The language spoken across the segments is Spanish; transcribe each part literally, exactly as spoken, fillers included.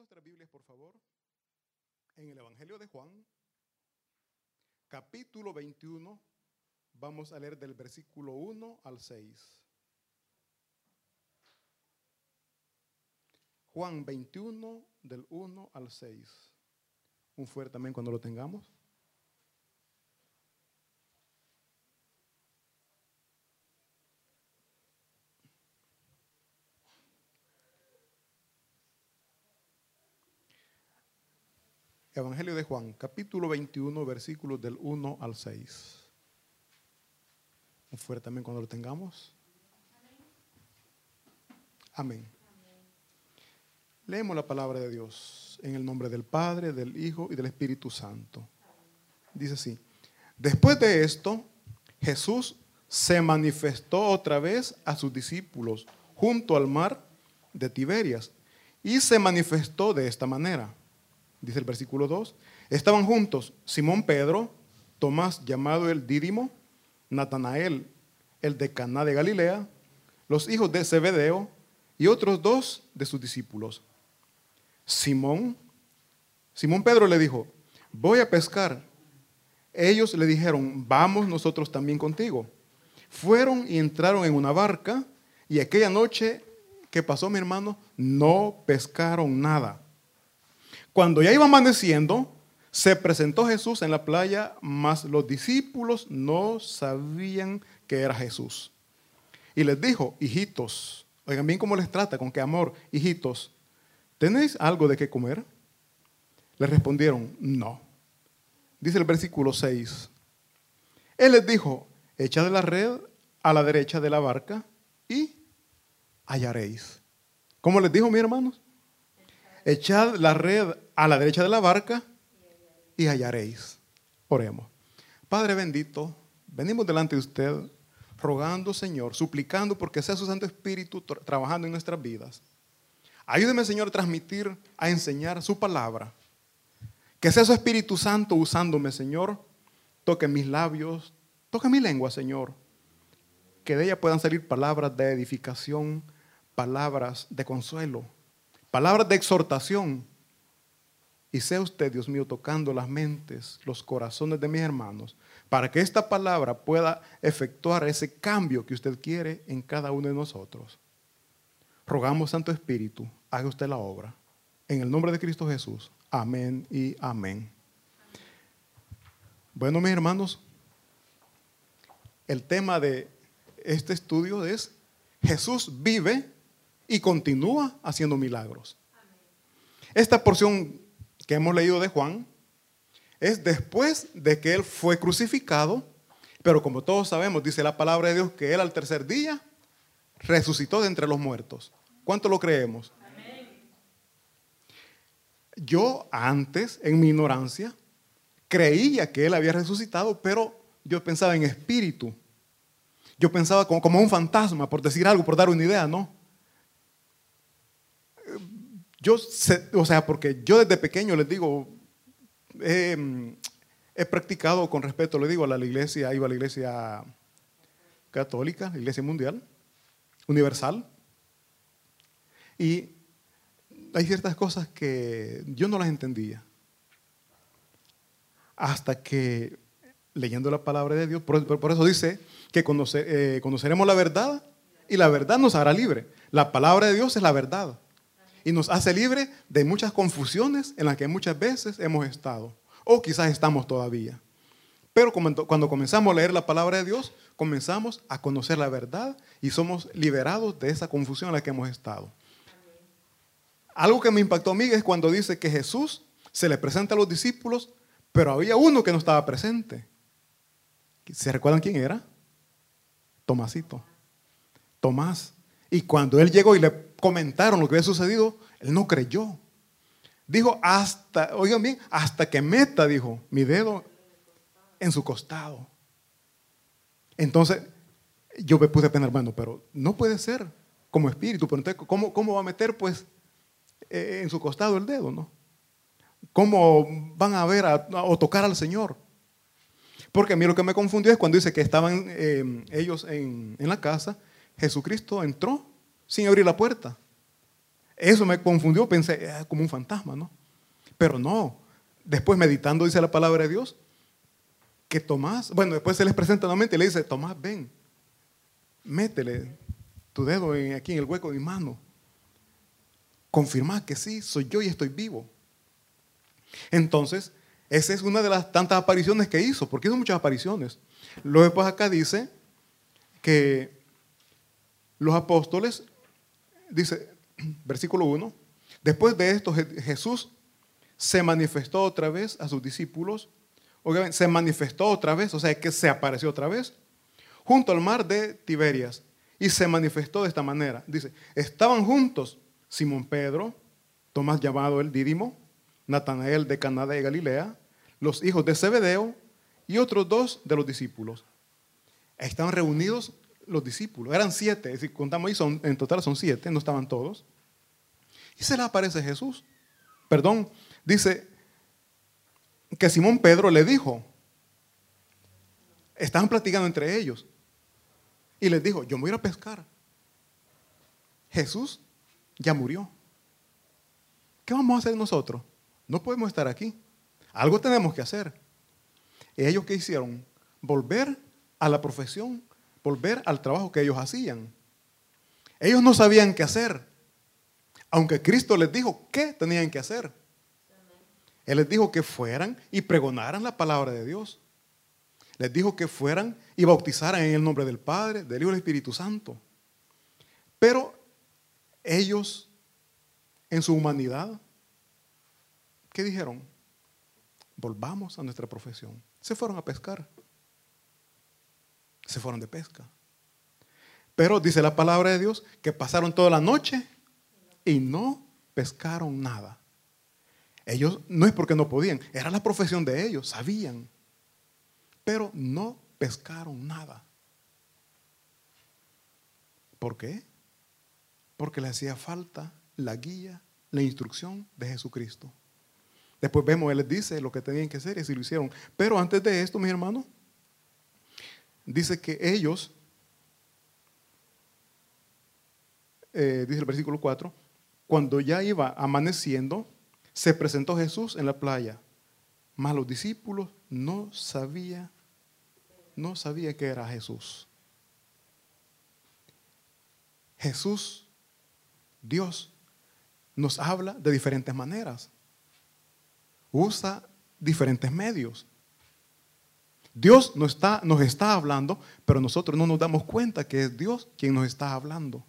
nuestras Biblias, por favor, en el Evangelio de Juan, capítulo veintiuno, vamos a leer del versículo uno al seis. Juan veintiuno, del uno al seis. Un fuerte amén cuando lo tengamos. Evangelio de Juan, capítulo veintiuno, versículos del uno al seis. Un fuerte amén cuando lo tengamos. Amén. Leemos la palabra de Dios en el nombre del Padre, del Hijo y del Espíritu Santo. Dice así: después de esto, Jesús se manifestó otra vez a sus discípulos junto al mar de Tiberias y se manifestó de esta manera. Dice el versículo dos, estaban juntos Simón Pedro, Tomás llamado el Dídimo, Natanael, el de Caná de Galilea, los hijos de Zebedeo y otros dos de sus discípulos. Simón, Simón Pedro le dijo, voy a pescar. Ellos le dijeron, vamos nosotros también contigo. Fueron y entraron en una barca y aquella noche que pasó, mi hermano, no pescaron nada. Cuando ya iba amaneciendo, se presentó Jesús en la playa, mas los discípulos no sabían que era Jesús. Y les dijo, hijitos, oigan bien cómo les trata, con qué amor, hijitos, ¿tenéis algo de qué comer? Les respondieron, no. Dice el versículo seis, Él les dijo, echad la red a la derecha de la barca y hallaréis. ¿Cómo les dijo, mis hermanos? Echad la red a la derecha de la barca y hallaréis. Oremos. Padre bendito, venimos delante de usted rogando, Señor, suplicando porque sea su Santo Espíritu tra- trabajando en nuestras vidas. Ayúdeme, Señor, a transmitir, a enseñar su palabra. Que sea su Espíritu Santo usándome, Señor. Toque mis labios, toque mi lengua, Señor. Que de ella puedan salir palabras de edificación, palabras de consuelo, palabras de exhortación. Y sea usted, Dios mío, tocando las mentes, los corazones de mis hermanos, para que esta palabra pueda efectuar ese cambio que usted quiere en cada uno de nosotros. Rogamos, Santo Espíritu, haga usted la obra. En el nombre de Cristo Jesús. Amén y amén. Bueno, mis hermanos, el tema de este estudio es Jesús vive y continúa haciendo milagros. Esta porción que hemos leído de Juan es después de que Él fue crucificado, pero como todos sabemos, dice la palabra de Dios que Él al tercer día resucitó de entre los muertos. ¿Cuánto lo creemos? Amén. Yo antes, en mi ignorancia, creía que Él había resucitado, pero yo pensaba en espíritu. Yo pensaba como, como un fantasma, por decir algo, por dar una idea, ¿no? Yo sé, o sea, porque yo desde pequeño les digo, eh, he practicado con respeto, le digo, a la iglesia, iba a la iglesia católica, la iglesia mundial, universal, y hay ciertas cosas que yo no las entendía. Hasta que, leyendo la palabra de Dios, por, por eso dice que conocer, eh, conoceremos la verdad y la verdad nos hará libre. La palabra de Dios es la verdad. Y nos hace libre de muchas confusiones en las que muchas veces hemos estado. O quizás estamos todavía. Pero cuando comenzamos a leer la palabra de Dios, comenzamos a conocer la verdad y somos liberados de esa confusión en la que hemos estado. Algo que me impactó a mí es cuando dice que Jesús se le presenta a los discípulos, pero había uno que no estaba presente. ¿Se recuerdan quién era? Tomásito. Tomás. Y cuando él llegó y le comentaron lo que había sucedido, él no creyó. Dijo, hasta, oigan bien, hasta que meta, dijo, mi dedo en su costado. Entonces, yo me puse a pensar, bueno, pero no puede ser como espíritu. Pero entonces, ¿cómo, cómo va a meter, pues, eh, en su costado el dedo, no? ¿Cómo van a ver a, a, o tocar al Señor? Porque a mí lo que me confundió es cuando dice que estaban eh, ellos en, en la casa, Jesucristo entró sin abrir la puerta. Eso me confundió, pensé, eh, como un fantasma, ¿no? Pero no. Después meditando, dice la palabra de Dios, que Tomás, bueno, después se les presenta nuevamente y le dice, Tomás, ven, métele tu dedo en, aquí en el hueco de mi mano. Confirma que sí, soy yo y estoy vivo. Entonces, esa es una de las tantas apariciones que hizo, porque hizo muchas apariciones. Luego después acá dice que los apóstoles, dice, versículo uno, después de esto Jesús se manifestó otra vez a sus discípulos. Obviamente, se manifestó otra vez, o sea que se apareció otra vez, junto al mar de Tiberias. Y se manifestó de esta manera. Dice, estaban juntos Simón Pedro, Tomás llamado el Dídimo, Natanael de Caná de Galilea, los hijos de Zebedeo y otros dos de los discípulos. Estaban reunidos los discípulos, eran siete, si contamos ahí, son, en total son siete, no estaban todos. Y se les aparece Jesús. Perdón, dice que Simón Pedro le dijo, estaban platicando entre ellos, y les dijo, yo me voy a ir a pescar. Jesús ya murió. ¿Qué vamos a hacer nosotros? No podemos estar aquí. Algo tenemos que hacer. ¿Y ellos qué hicieron? Volver a la profesión, volver al trabajo que ellos hacían. Ellos no sabían qué hacer, aunque Cristo les dijo qué tenían que hacer. Él les dijo que fueran y pregonaran la palabra de Dios. Les dijo que fueran y bautizaran en el nombre del Padre, del Hijo y del Espíritu Santo. Pero ellos, en su humanidad, ¿qué dijeron? Volvamos a nuestra profesión. Se fueron a pescar. Se fueron de pesca. Pero dice la palabra de Dios que pasaron toda la noche y no pescaron nada. Ellos, no es porque no podían, era la profesión de ellos, sabían. Pero no pescaron nada. ¿Por qué? Porque les hacía falta la guía, la instrucción de Jesucristo. Después vemos, Él les dice lo que tenían que hacer y así lo hicieron. Pero antes de esto, mis hermanos, dice que ellos, eh, dice el versículo cuatro, cuando ya iba amaneciendo, se presentó Jesús en la playa, mas los discípulos no sabían, no sabían que era Jesús. Jesús, Dios, nos habla de diferentes maneras. Usa diferentes medios. Dios nos está, nos está hablando, pero nosotros no nos damos cuenta que es Dios quien nos está hablando.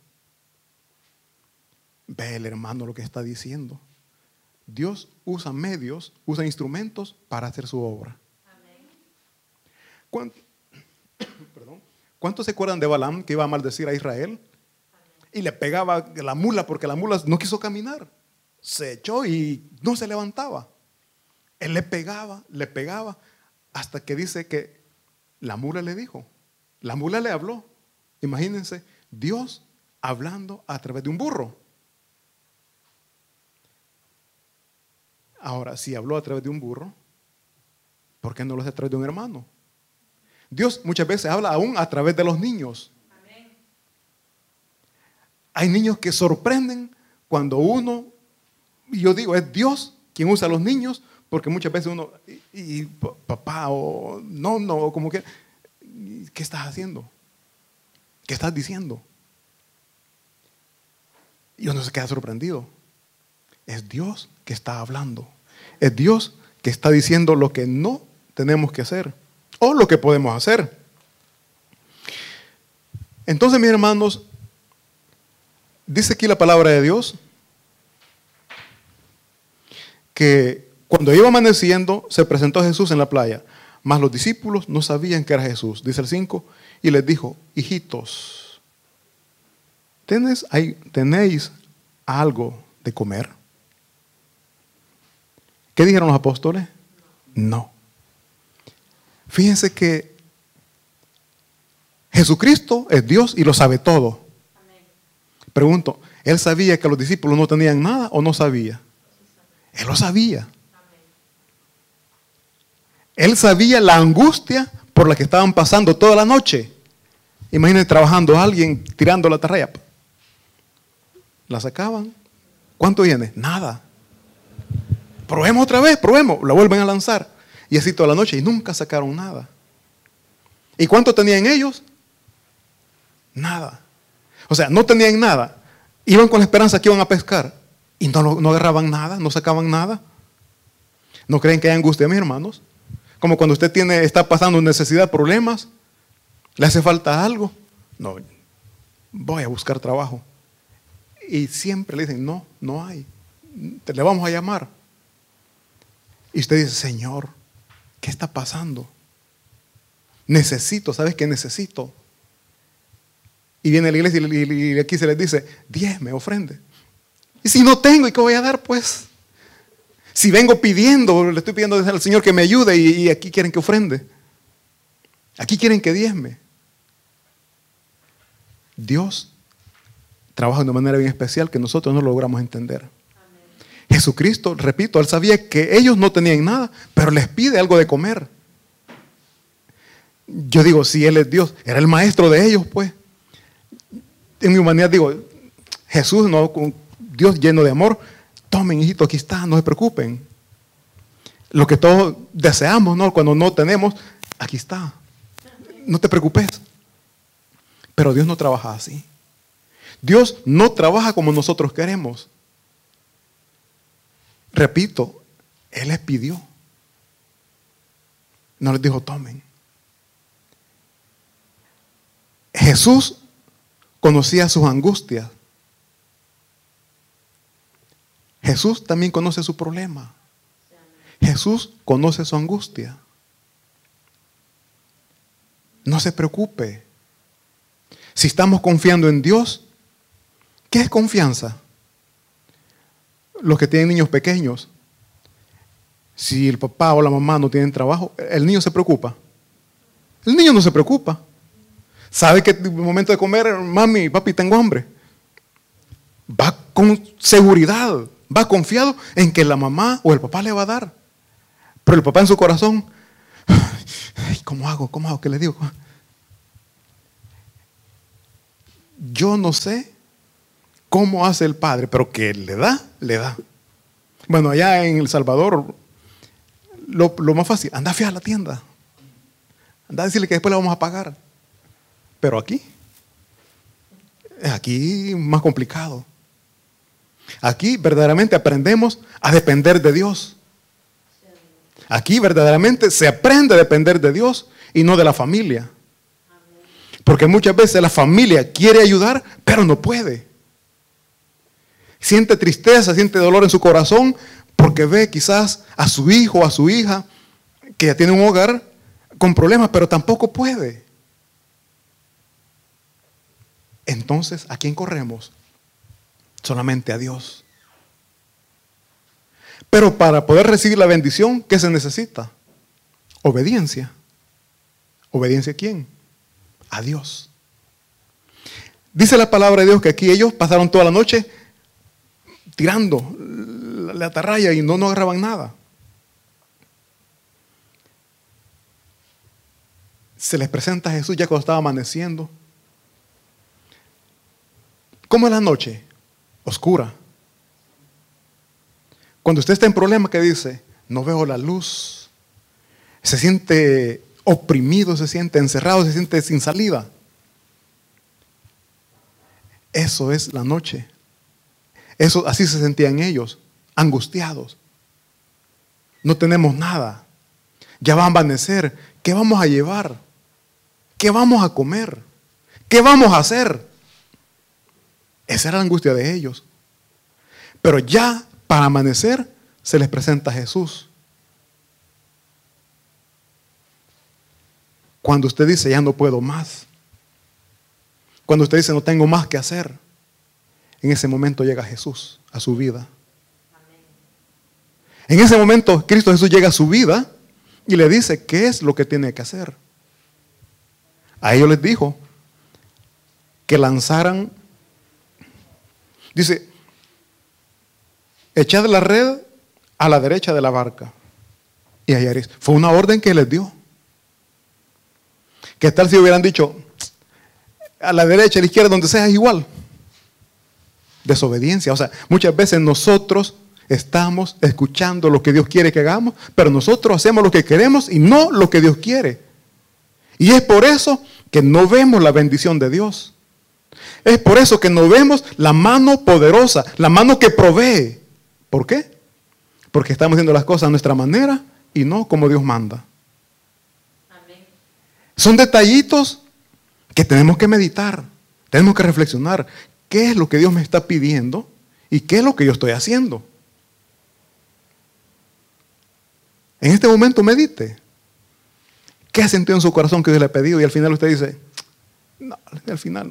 Ve el hermano lo que está diciendo. Dios usa medios, usa instrumentos para hacer su obra. ¿Cuántos, perdón, ¿Cuántos se acuerdan de Balaam que iba a maldecir a Israel? Y le pegaba la mula porque la mula no quiso caminar. Se echó y no se levantaba. Él le pegaba, le pegaba, hasta que dice que la mula le dijo, la mula le habló. Imagínense, Dios hablando a través de un burro. Ahora, si habló a través de un burro, ¿por qué no lo hace a través de un hermano? Dios muchas veces habla aún a través de los niños. Amén. Hay niños que sorprenden cuando uno, y yo digo, es Dios quien usa a los niños, porque muchas veces uno, y, y papá, o no, no, como que, ¿qué estás haciendo? ¿Qué estás diciendo? Y uno se queda sorprendido. Es Dios que está hablando. Es Dios que está diciendo lo que no tenemos que hacer o lo que podemos hacer. Entonces, mis hermanos, dice aquí la palabra de Dios que cuando iba amaneciendo se presentó Jesús en la playa, mas los discípulos no sabían que era Jesús. Dice el cinco, y les dijo, hijitos, ¿tenéis, ¿tenéis algo de comer? ¿Qué dijeron los apóstoles? No. Fíjense que Jesucristo es Dios y lo sabe todo. Pregunto, ¿Él sabía que los discípulos no tenían nada o no sabía? Él lo sabía. Él sabía la angustia por la que estaban pasando toda la noche. Imagínense trabajando a alguien tirando la atarraya. La sacaban, ¿Cuánto viene? Nada. Probemos otra vez, probemos. La vuelven a lanzar. Y así toda la noche y nunca sacaron nada. ¿Y cuánto tenían ellos? Nada. O sea, no tenían nada. Iban con la esperanza que iban a pescar. Y no, no agarraban nada, no sacaban nada. ¿No creen que hay angustia, mis hermanos? Como cuando usted tiene, está pasando necesidad, problemas, le hace falta algo. No, voy a buscar trabajo. Y siempre le dicen, no, no hay. Te le vamos a llamar. Y usted dice, Señor, ¿qué está pasando? Necesito, ¿sabes qué necesito? Y viene la iglesia y aquí se les dice, diezme, ofrende. Y si no tengo, ¿y qué voy a dar? Pues, si vengo pidiendo, le estoy pidiendo al Señor que me ayude y, y aquí quieren que ofrende. Aquí quieren que diezme. Dios trabaja de una manera bien especial que nosotros no logramos entender. Amén. Jesucristo, repito, Él sabía que ellos no tenían nada, pero les pide algo de comer. Yo digo, si Él es Dios, era el maestro de ellos, pues. En mi humanidad digo, Jesús, no, Dios lleno de amor, tomen, hijito, aquí está, no se preocupen. Lo que todos deseamos, ¿no? Cuando no tenemos, aquí está. No te preocupes. Pero Dios no trabaja así. Dios no trabaja como nosotros queremos. Repito, Él les pidió. No les dijo, tomen. Jesús conocía sus angustias. Jesús también conoce su problema. Jesús conoce su angustia. No se preocupe. Si estamos confiando en Dios, ¿qué es confianza? Los que tienen niños pequeños, si el papá o la mamá no tienen trabajo, el niño se preocupa. El niño no se preocupa. Sabe que en el momento de comer, mami, papi, tengo hambre. Va con seguridad, va confiado en que la mamá o el papá le va a dar. Pero el papá en su corazón, ay, ¿cómo hago? ¿Cómo hago? ¿Qué le digo? Yo no sé cómo hace el padre, pero que le da, le da. Bueno, allá en El Salvador, lo, lo más fácil, anda a fiar a la tienda. Anda a decirle que después le vamos a pagar. Pero aquí, aquí más complicado. Aquí verdaderamente aprendemos a depender de Dios. Aquí verdaderamente se aprende a depender de Dios y no de la familia. Porque muchas veces la familia quiere ayudar, pero no puede. Siente tristeza, siente dolor en su corazón porque ve quizás a su hijo o a su hija que ya tiene un hogar con problemas, pero tampoco puede. Entonces, ¿a quién corremos? Solamente a Dios. Pero para poder recibir la bendición, ¿qué se necesita? Obediencia. ¿Obediencia a quién? A Dios. Dice la palabra de Dios que aquí ellos pasaron toda la noche tirando la atarraya y no, no agarraban nada. Se les presenta a Jesús ya cuando estaba amaneciendo. ¿Cómo es la noche? Oscura. Cuando usted está en problema, ¿qué dice? No veo la luz. Se siente oprimido, se siente encerrado, se siente sin salida. Eso es la noche. Eso, así se sentían ellos, angustiados. No tenemos nada. Ya va a amanecer. ¿Qué vamos a llevar? ¿Qué vamos a comer? ¿Qué vamos a hacer? Esa era la angustia de ellos. Pero ya para amanecer se les presenta Jesús. Cuando usted dice, ya no puedo más. Cuando usted dice, no tengo más que hacer. En ese momento llega Jesús a su vida. En ese momento Cristo Jesús llega a su vida y le dice qué es lo que tiene que hacer. A ellos les dijo que lanzaran, dice, echad la red a la derecha de la barca y hallaréis. Fue una orden que les dio. ¿Qué tal si hubieran dicho a la derecha, a la izquierda, donde sea es igual? desobediencia. O sea, muchas veces nosotros estamos escuchando lo que Dios quiere que hagamos, pero nosotros hacemos lo que queremos y no lo que Dios quiere. Y es por eso que no vemos la bendición de Dios. Es por eso que no vemos la mano poderosa, la mano que provee. ¿Por qué? Porque estamos haciendo las cosas a nuestra manera y no como Dios manda. Amén. Son detallitos que tenemos que meditar, tenemos que reflexionar. ¿Qué es lo que Dios me está pidiendo y qué es lo que yo estoy haciendo? En este momento medite. ¿Qué ha sentido en su corazón que Dios le ha pedido? Y al final usted dice, no, al final.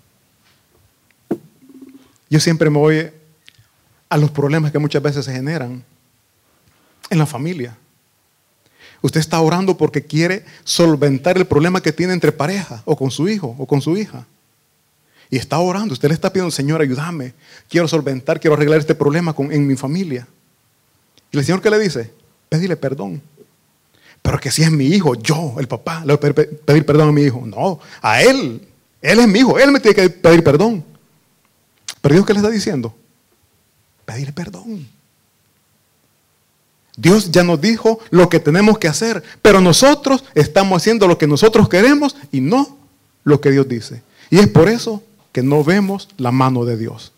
Yo siempre me voy a los problemas que muchas veces se generan en la familia. Usted está orando porque quiere solventar el problema que tiene entre pareja, o con su hijo, o con su hija. Y está orando, usted le está pidiendo, Señor, ayúdame. Quiero solventar, quiero arreglar este problema con, en mi familia. Y el Señor, ¿qué le dice? Pedirle perdón. Pero que si es mi hijo, yo, el papá, le voy a pedir perdón a mi hijo. No, a él. Él es mi hijo, él me tiene que pedir perdón. Pero Dios, ¿qué le está diciendo? Pedirle perdón. Dios ya nos dijo lo que tenemos que hacer, pero nosotros estamos haciendo lo que nosotros queremos y no lo que Dios dice. Y es por eso que no vemos la mano de Dios.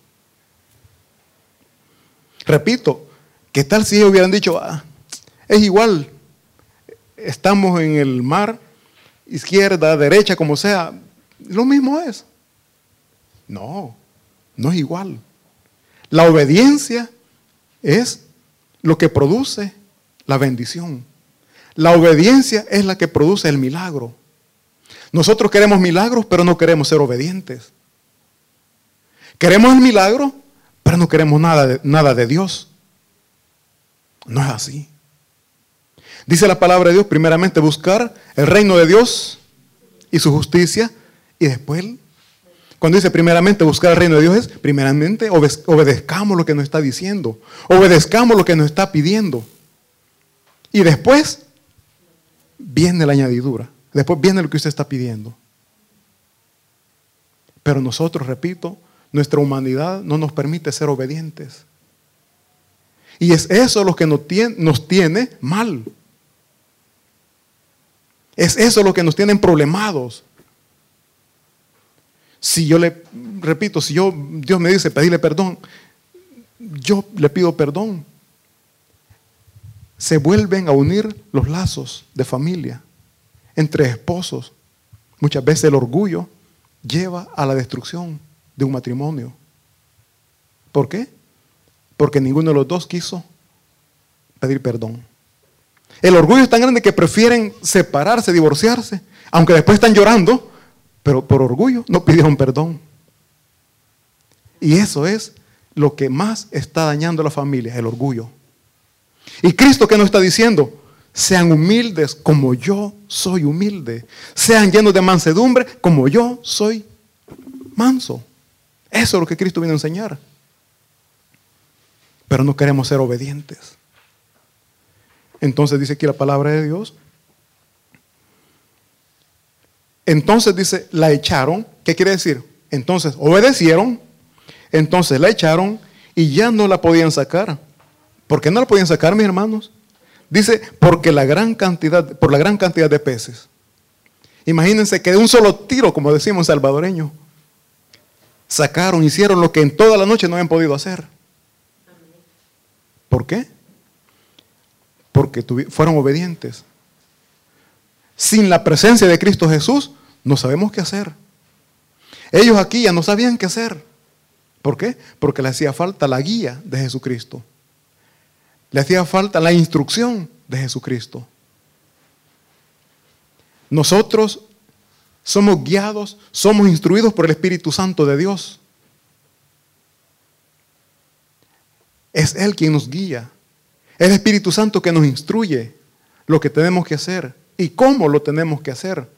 Repito, ¿qué tal si ellos hubieran dicho, ah, es igual, estamos en el mar, izquierda, derecha, como sea, lo mismo es? No, no es igual. La obediencia es lo que produce la bendición. La obediencia es la que produce el milagro. Nosotros queremos milagros, pero no queremos ser obedientes. Queremos el milagro, pero no queremos nada de, nada de Dios. No es así. Dice la palabra de Dios, primeramente buscar el reino de Dios y su justicia, y después, cuando dice primeramente buscar el reino de Dios, es primeramente obedezcamos lo que nos está diciendo, obedezcamos lo que nos está pidiendo, y después viene la añadidura, después viene lo que usted está pidiendo. Pero nosotros, repito, nuestra humanidad no nos permite ser obedientes, y es eso lo que nos tiene, nos tiene mal. Es eso lo que nos tienen problemados. Si yo le, repito, si yo, Dios me dice pedirle perdón, yo le pido perdón. Se vuelven a unir los lazos de familia entre esposos. Muchas veces el orgullo lleva a la destrucción de un matrimonio. ¿Por qué? Porque ninguno de los dos quiso pedir perdón. El orgullo es tan grande que prefieren separarse, divorciarse, aunque después están llorando, pero por orgullo no pidieron perdón. Y eso es lo que más está dañando a la familia, el orgullo. ¿Y Cristo qué nos está diciendo? Sean humildes como yo soy humilde. Sean llenos de mansedumbre como yo soy manso. Eso es lo que Cristo vino a enseñar. Pero no queremos ser obedientes. Entonces dice aquí la palabra de Dios. Entonces dice, la echaron. ¿Qué quiere decir? Entonces obedecieron, entonces la echaron y ya no la podían sacar. ¿Por qué no la podían sacar, mis hermanos? Dice, porque la gran cantidad, por la gran cantidad de peces. Imagínense que de un solo tiro, como decimos salvadoreño, sacaron, hicieron lo que en toda la noche no habían podido hacer. ¿Por qué? Porque fueron obedientes. Sin la presencia de Cristo Jesús, no sabemos qué hacer. Ellos aquí ya no sabían qué hacer. ¿Por qué? Porque le hacía falta la guía de Jesucristo. Le hacía falta la instrucción de Jesucristo. Nosotros somos guiados, somos instruidos por el Espíritu Santo de Dios. Es Él quien nos guía. Es el Espíritu Santo que nos instruye lo que tenemos que hacer y cómo lo tenemos que hacer.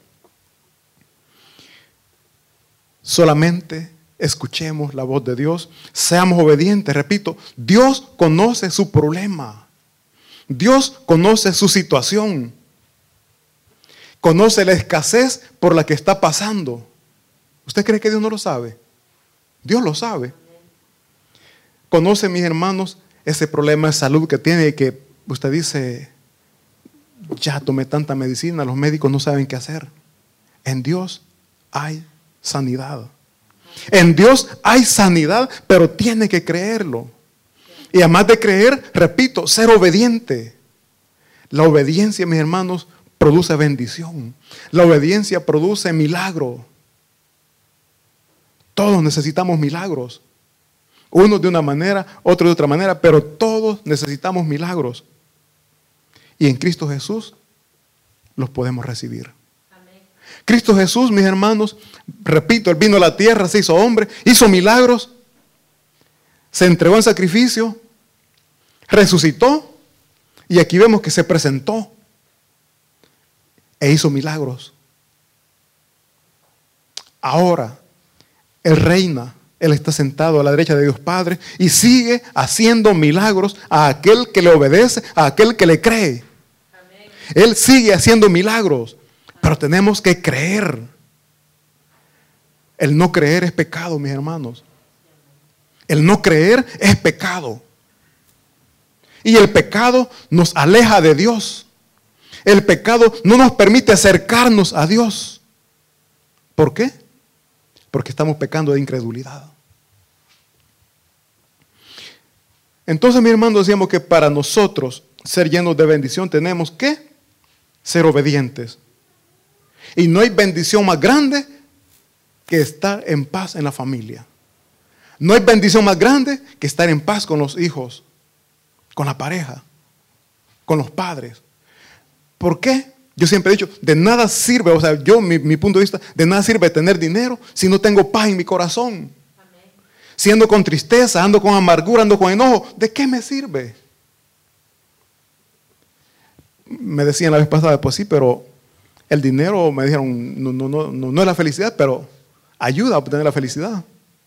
Solamente escuchemos la voz de Dios, seamos obedientes. Repito, Dios conoce su problema. Dios conoce su situación. Conoce la escasez por la que está pasando. ¿Usted cree que Dios no lo sabe? Dios lo sabe. conoce, mis hermanos, ese problema de salud que tiene y que usted dice, ya tomé tanta medicina, los médicos no saben qué hacer. En Dios hay sanidad. En Dios hay sanidad, pero tiene que creerlo. Y además de creer, repito, ser obediente. La obediencia, mis hermanos, produce bendición. La obediencia produce milagro. Todos necesitamos milagros. Unos de una manera, otros de otra manera, pero todos necesitamos milagros. Y en Cristo Jesús los podemos recibir. Amén. Cristo Jesús, mis hermanos, repito, Él vino a la tierra, se hizo hombre, hizo milagros, se entregó en sacrificio, resucitó, y aquí vemos que se presentó e hizo milagros. Ahora, Él reina, Él está sentado a la derecha de Dios Padre y sigue haciendo milagros a aquel que le obedece, a aquel que le cree. Amén. Él sigue haciendo milagros, pero tenemos que creer. El no creer es pecado, mis hermanos. El no creer es pecado. Y el pecado nos aleja de Dios. El pecado no nos permite acercarnos a Dios. ¿Por qué? Porque estamos pecando de incredulidad. Entonces, mis hermanos, decíamos que para nosotros ser llenos de bendición tenemos que ser obedientes. Y no hay bendición más grande que estar en paz en la familia. No hay bendición más grande que estar en paz con los hijos, con la pareja, con los padres. ¿Por qué? Yo siempre he dicho, de nada sirve, o sea, yo, mi, mi punto de vista, de nada sirve tener dinero si no tengo paz en mi corazón. Amén. Si ando con tristeza, ando con amargura, ando con enojo, ¿de qué me sirve? Me decían la vez pasada, pues sí, pero el dinero, me dijeron, no, no, no, no, no es la felicidad, pero ayuda a obtener la felicidad.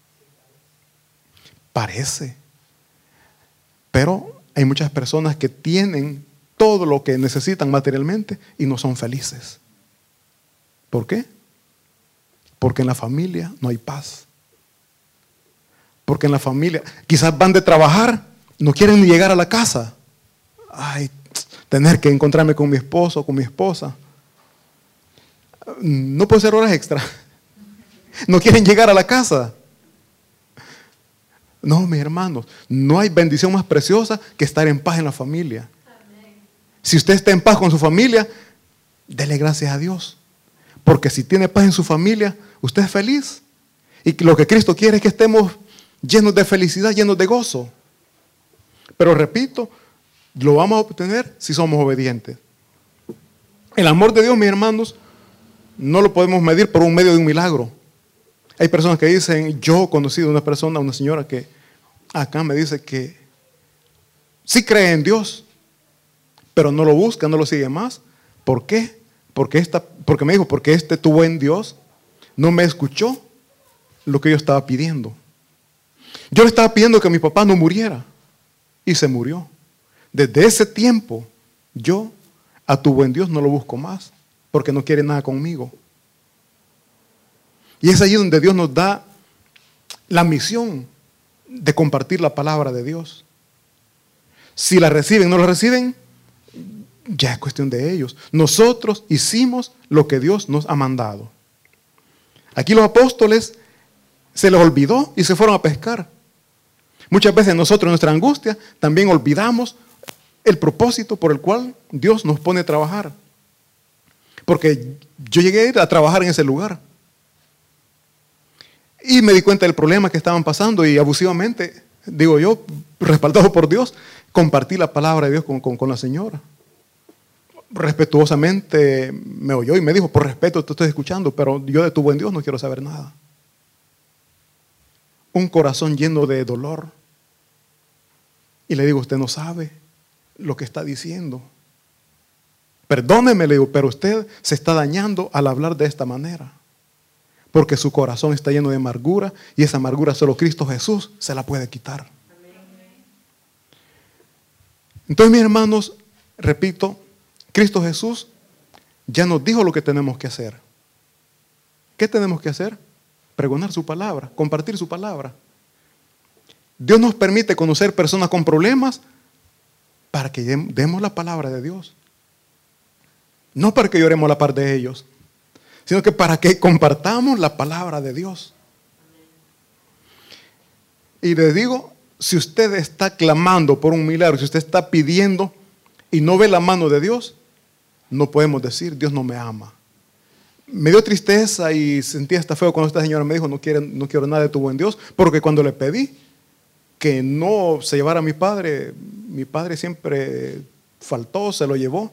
Parece. Pero hay muchas personas que tienen todo lo que necesitan materialmente y no son felices. ¿Por qué? Porque en la familia no hay paz. Porque en la familia, quizás van de trabajar, no quieren ni llegar a la casa. Ay, tener que encontrarme con mi esposo o con mi esposa. No puedo hacer horas extra. No quieren llegar a la casa. No, mis hermanos, no hay bendición más preciosa que estar en paz en la familia. Si usted está en paz con su familia, dele gracias a Dios. Porque si tiene paz en su familia, usted es feliz. Y lo que Cristo quiere es que estemos llenos de felicidad, llenos de gozo. Pero repito, lo vamos a obtener si somos obedientes. El amor de Dios, mis hermanos, no lo podemos medir por un medio de un milagro. Hay personas que dicen, yo he conocido a una persona, una señora que acá me dice que sí cree en Dios, pero no lo busca, no lo sigue más. ¿Por qué? Porque, esta, porque me dijo, porque este tu buen Dios no me escuchó lo que yo estaba pidiendo. Yo le estaba pidiendo que mi papá no muriera y se murió. Desde ese tiempo yo a tu buen Dios no lo busco más porque no quiere nada conmigo. Y es allí donde Dios nos da la misión de compartir la palabra de Dios. Si la reciben o no la reciben, ya es cuestión de ellos. Nosotros hicimos lo que Dios nos ha mandado. Aquí los apóstoles se les olvidó y se fueron a pescar. Muchas veces nosotros en nuestra angustia también olvidamos el propósito por el cual Dios nos pone a trabajar. Porque yo llegué a ir a trabajar en ese lugar. Y me di cuenta del problema que estaban pasando y abusivamente, digo yo, respaldado por Dios, compartí la palabra de Dios con, con, con la señora. Respetuosamente me oyó y me dijo, por respeto te estoy escuchando, pero yo de tu buen Dios no quiero saber nada. Un corazón lleno de dolor. Y le digo, usted no sabe lo que está diciendo. Perdóneme, le digo, pero usted se está dañando al hablar de esta manera. Porque su corazón está lleno de amargura y esa amargura solo Cristo Jesús se la puede quitar. Entonces, mis hermanos, repito, Cristo Jesús ya nos dijo lo que tenemos que hacer. ¿Qué tenemos que hacer? Pregonar su palabra, compartir su palabra. Dios nos permite conocer personas con problemas para que demos la palabra de Dios. No para que lloremos a la par de ellos, sino que para que compartamos la palabra de Dios. Y les digo, si usted está clamando por un milagro, si usted está pidiendo y no ve la mano de Dios, no podemos decir, Dios no me ama. Me dio tristeza y sentí hasta feo cuando esta señora me dijo, no quiero, no quiero nada de tu buen Dios, porque cuando le pedí que no se llevara a mi padre, mi padre siempre faltó, se lo llevó.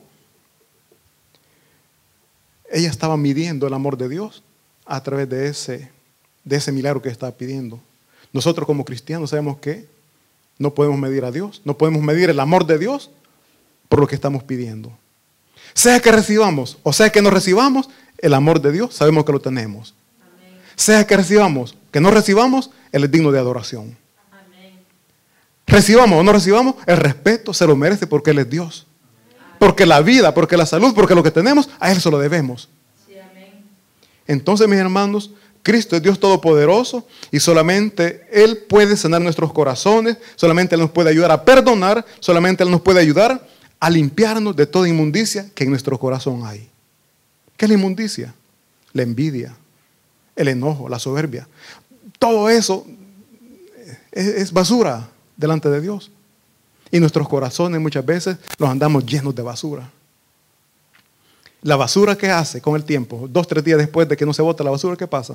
Ella estaba midiendo el amor de Dios a través de ese, de ese milagro que estaba pidiendo. Nosotros como cristianos sabemos que no podemos medir a Dios, no podemos medir el amor de Dios por lo que estamos pidiendo. Sea que recibamos o sea que no recibamos, el amor de Dios sabemos que lo tenemos. Amén. Sea que recibamos, que no recibamos, Él es digno de adoración. Amén. Recibamos o no recibamos, el respeto se lo merece porque Él es Dios. Amén. Porque la vida, porque la salud, porque lo que tenemos, a Él se lo debemos. Sí, amén. Entonces, mis hermanos, Cristo es Dios todopoderoso y solamente Él puede sanar nuestros corazones, solamente Él nos puede ayudar a perdonar, solamente Él nos puede ayudar a limpiarnos de toda inmundicia que en nuestro corazón hay. ¿Qué es la inmundicia? La envidia, el enojo, la soberbia. Todo eso es, es basura delante de Dios. Y nuestros corazones muchas veces los andamos llenos de basura. La basura, ¿qué hace con el tiempo? Dos, tres días después de que no se bota la basura, ¿qué pasa?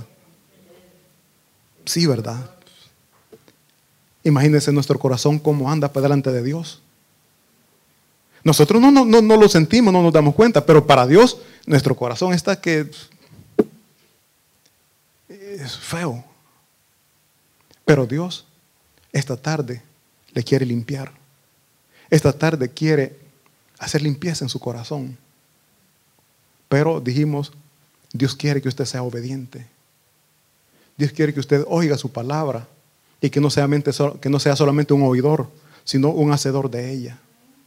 Sí, ¿verdad? Imagínense nuestro corazón cómo anda para delante de Dios. Nosotros no, no, no, no lo sentimos, no nos damos cuenta, pero para Dios nuestro corazón está que es feo. Pero Dios esta tarde le quiere limpiar. Esta tarde quiere hacer limpieza en su corazón. Pero dijimos, Dios quiere que usted sea obediente. Dios quiere que usted oiga su palabra y que no sea, mente, que no sea solamente un oidor, sino un hacedor de ella.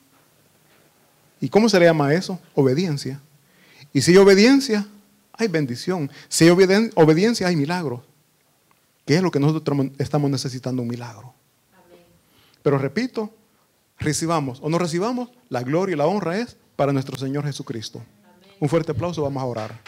¿Y cómo se le llama eso? Obediencia. Y si hay obediencia, hay bendición. Si hay obedien- obediencia, hay milagro. Que es lo que nosotros estamos necesitando, un milagro. Amén. Pero repito, recibamos o no recibamos, la gloria y la honra es para nuestro Señor Jesucristo. Amén. Un fuerte aplauso, vamos a orar.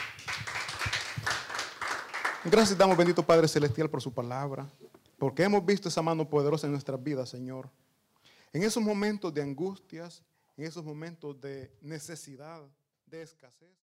Gracias damos, bendito Padre Celestial, por su palabra, porque hemos visto esa mano poderosa en nuestras vidas, Señor. En esos momentos de angustias, en esos momentos de necesidad, de escasez.